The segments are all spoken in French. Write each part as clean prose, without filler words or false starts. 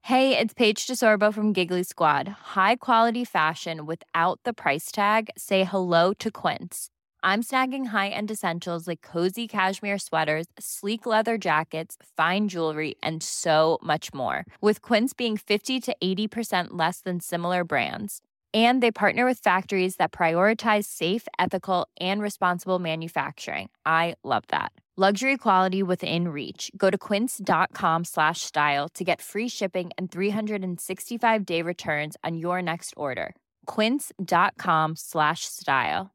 Hey, it's Paige DeSorbo from Giggly Squad. High quality fashion without the price tag. Say hello to Quince. I'm snagging high-end essentials like cozy cashmere sweaters, sleek leather jackets, fine jewelry, and so much more. With Quince being 50 to 80% less than similar brands. And they partner with factories that prioritize safe, ethical, and responsible manufacturing. I love that. Luxury quality within reach. Go to quince.com/style to get free shipping and 365-day returns on your next order. Quince.com/style.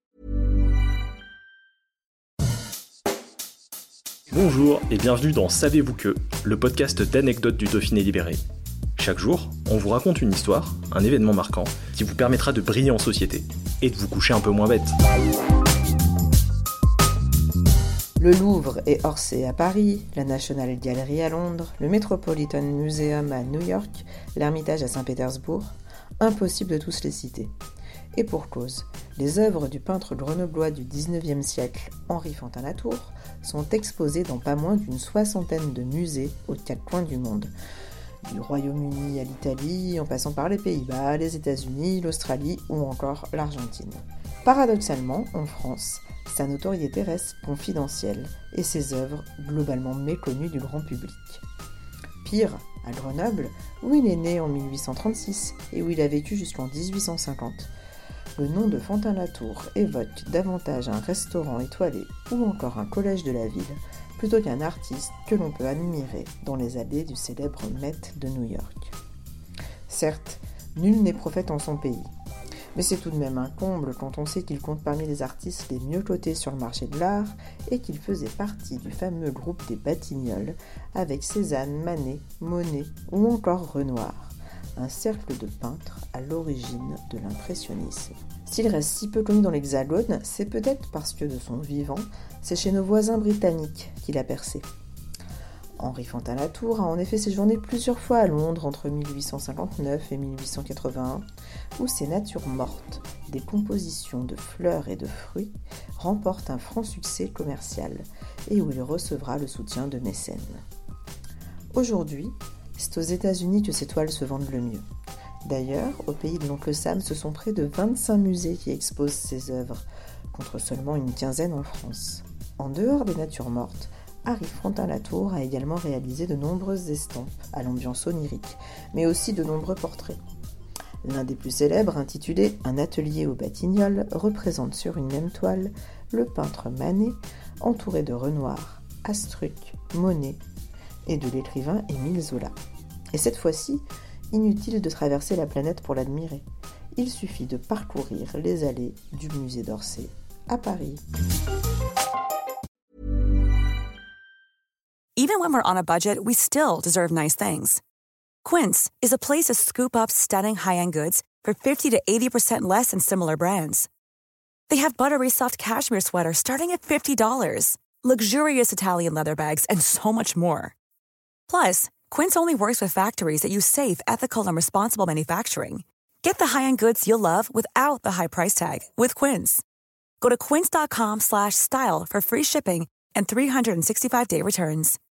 Bonjour et bienvenue dans Savez-vous que, le podcast d'anecdotes du Dauphiné libéré. Chaque jour, on vous raconte une histoire, un événement marquant, qui vous permettra de briller en société et de vous coucher un peu moins bête. Le Louvre et Orsay à Paris, la National Gallery à Londres, le Metropolitan Museum à New York, l'Ermitage à Saint-Pétersbourg, impossible de tous les citer. Et pour cause, les œuvres du peintre grenoblois du XIXe siècle, Henri Fantin-Latour, sont exposées dans pas moins d'une soixantaine de musées aux quatre coins du monde. Du Royaume-Uni à l'Italie, en passant par les Pays-Bas, les États-Unis, l'Australie ou encore l'Argentine. Paradoxalement, en France, sa notoriété reste confidentielle et ses œuvres globalement méconnues du grand public. Pire, à Grenoble, où il est né en 1836 et où il a vécu jusqu'en 1850, le nom de Fantin-Latour évoque davantage un restaurant étoilé ou encore un collège de la ville plutôt qu'un artiste que l'on peut admirer dans les allées du célèbre Met de New York. Certes, nul n'est prophète en son pays, mais c'est tout de même un comble quand on sait qu'il compte parmi les artistes les mieux cotés sur le marché de l'art et qu'il faisait partie du fameux groupe des Batignolles avec Cézanne, Manet, Monet ou encore Renoir, un cercle de peintres à l'origine de l'impressionnisme. S'il reste si peu connu dans l'Hexagone, c'est peut-être parce que de son vivant, c'est chez nos voisins britanniques qu'il a percé. Henri Fantin-Latour a en effet séjourné plusieurs fois à Londres entre 1859 et 1881, où ses natures mortes, des compositions de fleurs et de fruits, remportent un franc succès commercial et où il recevra le soutien de mécènes. Aujourd'hui, c'est aux États-Unis que ses toiles se vendent le mieux. D'ailleurs, au pays de l'oncle Sam, ce sont près de 25 musées qui exposent ses œuvres, contre seulement une quinzaine en France. En dehors des natures mortes, Henri Fantin-Latour a également réalisé de nombreuses estampes à l'ambiance onirique, mais aussi de nombreux portraits. L'un des plus célèbres, intitulé « Un atelier aux Batignolles », représente sur une même toile le peintre Manet, entouré de Renoir, Astruc, Monet et de l'écrivain Émile Zola. Et cette fois-ci, inutile de traverser la planète pour l'admirer. Il suffit de parcourir les allées du musée d'Orsay à Paris. Even when we're on a budget, we still deserve nice things. Quince is a place to scoop up stunning high-end goods for 50 to 80% less than similar brands. They have buttery soft cashmere sweaters starting at $50, luxurious Italian leather bags, and so much more. Plus, Quince only works with factories that use safe, ethical, and responsible manufacturing. Get the high-end goods you'll love without the high price tag with Quince. Go to quince.com/style for free shipping and 365-day returns.